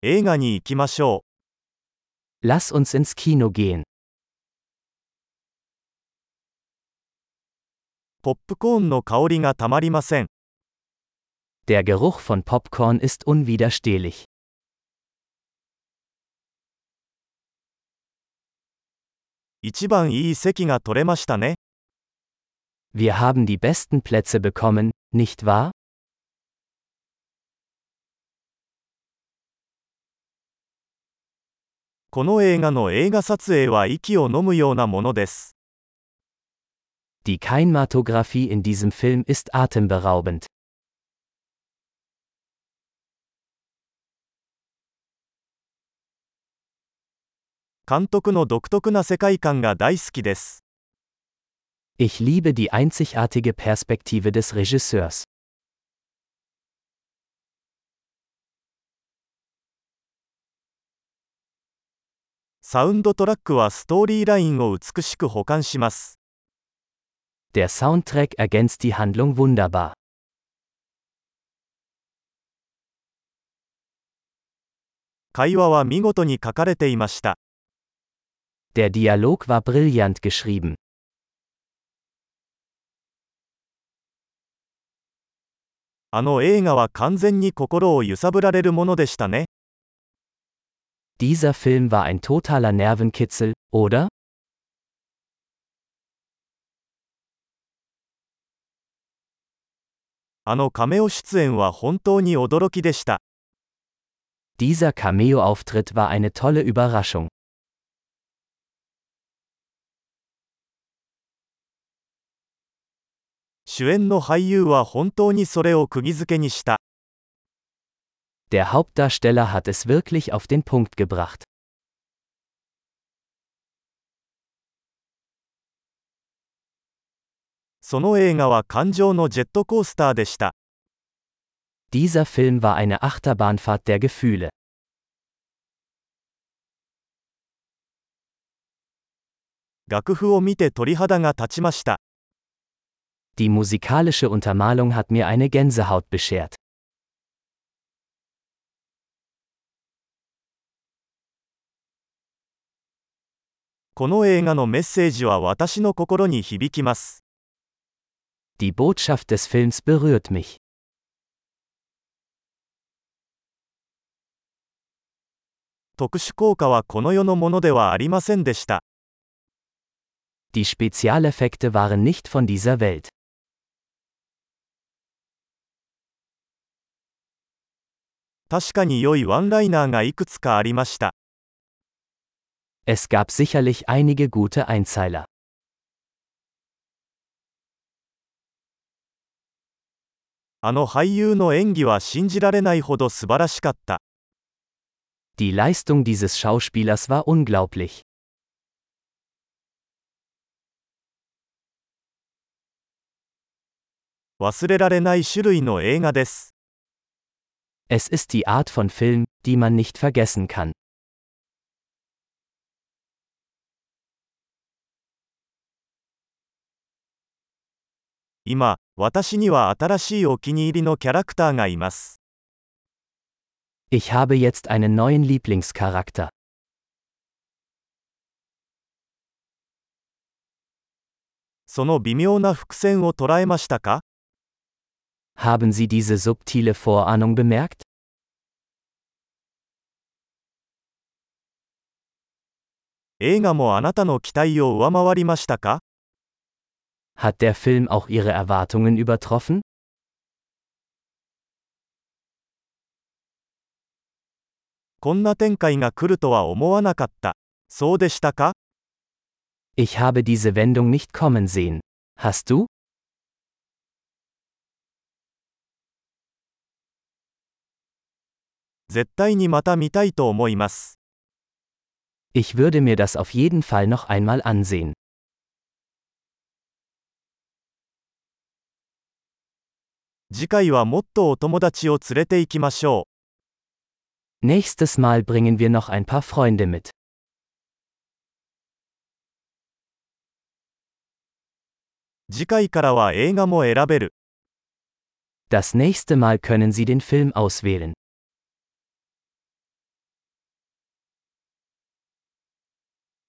映画に行きましょ Lass uns ins Kino gehen. う。ポップコーンの香りがたまりません。 Der Geruch von Popcorn ist unwiderstehlich. 一番いい席が取れましたね。 Wir haben die besten Plätze bekommen, nicht wahr? この映画の映画撮影は息を飲むようなものです。 Die Kinematographie in diesem Film ist atemberaubend. 監督の独特な世界観が大好きです。 Ich liebe die einzigartige Perspektive des Regisseurs. サウンドトラックはストーリーラインを美しく補完します。 Der Soundtrack ergänzt die Handlung wunderbar. 会話は見事に書かれていました。 Der Dialog war brillant geschrieben. あの映画は完全に心を揺さぶられるものでしたね。 Dieser Film war ein totaler Nervenkitzel, oder? あのカメオ出演は本当に驚きでした。 Dieser Cameo-Auftritt war eine tolle Überraschung. 主演の俳優は本当にそれを釘付けにした。 Der Hauptdarsteller hat es wirklich auf den Punkt gebracht. その映画は感情のジェットコースターでした。 Dieser Film war eine Achterbahnfahrt der Gefühle. 楽譜を見て鳥肌が立ちました。 Die musikalische Untermalung hat mir eine Gänsehaut beschert. この映画のメッセージは私の心に響きます。 Die Botschaft des Films berührt mich. 特殊効果はこの世のものではありませんでした。 Die Spezialeffekte waren nicht von dieser Welt. 確かに良いワンライナーがいくつかありました。 Es gab sicherlich einige gute Einzeiler. あの俳優の演技は信じられないほど素晴らしかった。 Die Leistung dieses Schauspielers war unglaublich. 忘れられない種類の映画です。 Es ist die Art von Film, die man nicht vergessen kann. 今、私には新しいお気に入りのキャラクターがいます。 Ich habe jetzt einen neuen Lieblingscharakter. その微妙な伏線を捉えましたか？ Haben Sie diese subtile Vorahnung bemerkt? 映画もあなたの期待を上回りましたか？ Hat der Film auch Ihre Erwartungen übertroffen? こんな展開が来るとは思わなかった。そうでしたか？ Ich habe diese Wendung nicht kommen sehen. Hast du? 絶対にまた見たいと思います。 Ich würde mir das auf jeden Fall noch einmal ansehen. 次回はもっとお友達を連れて行きましょう。 Nächstes Mal bringen wir noch ein paar Freunde mit. 次回からは映画も選べる。 Das nächste Mal können Sie den Film auswählen.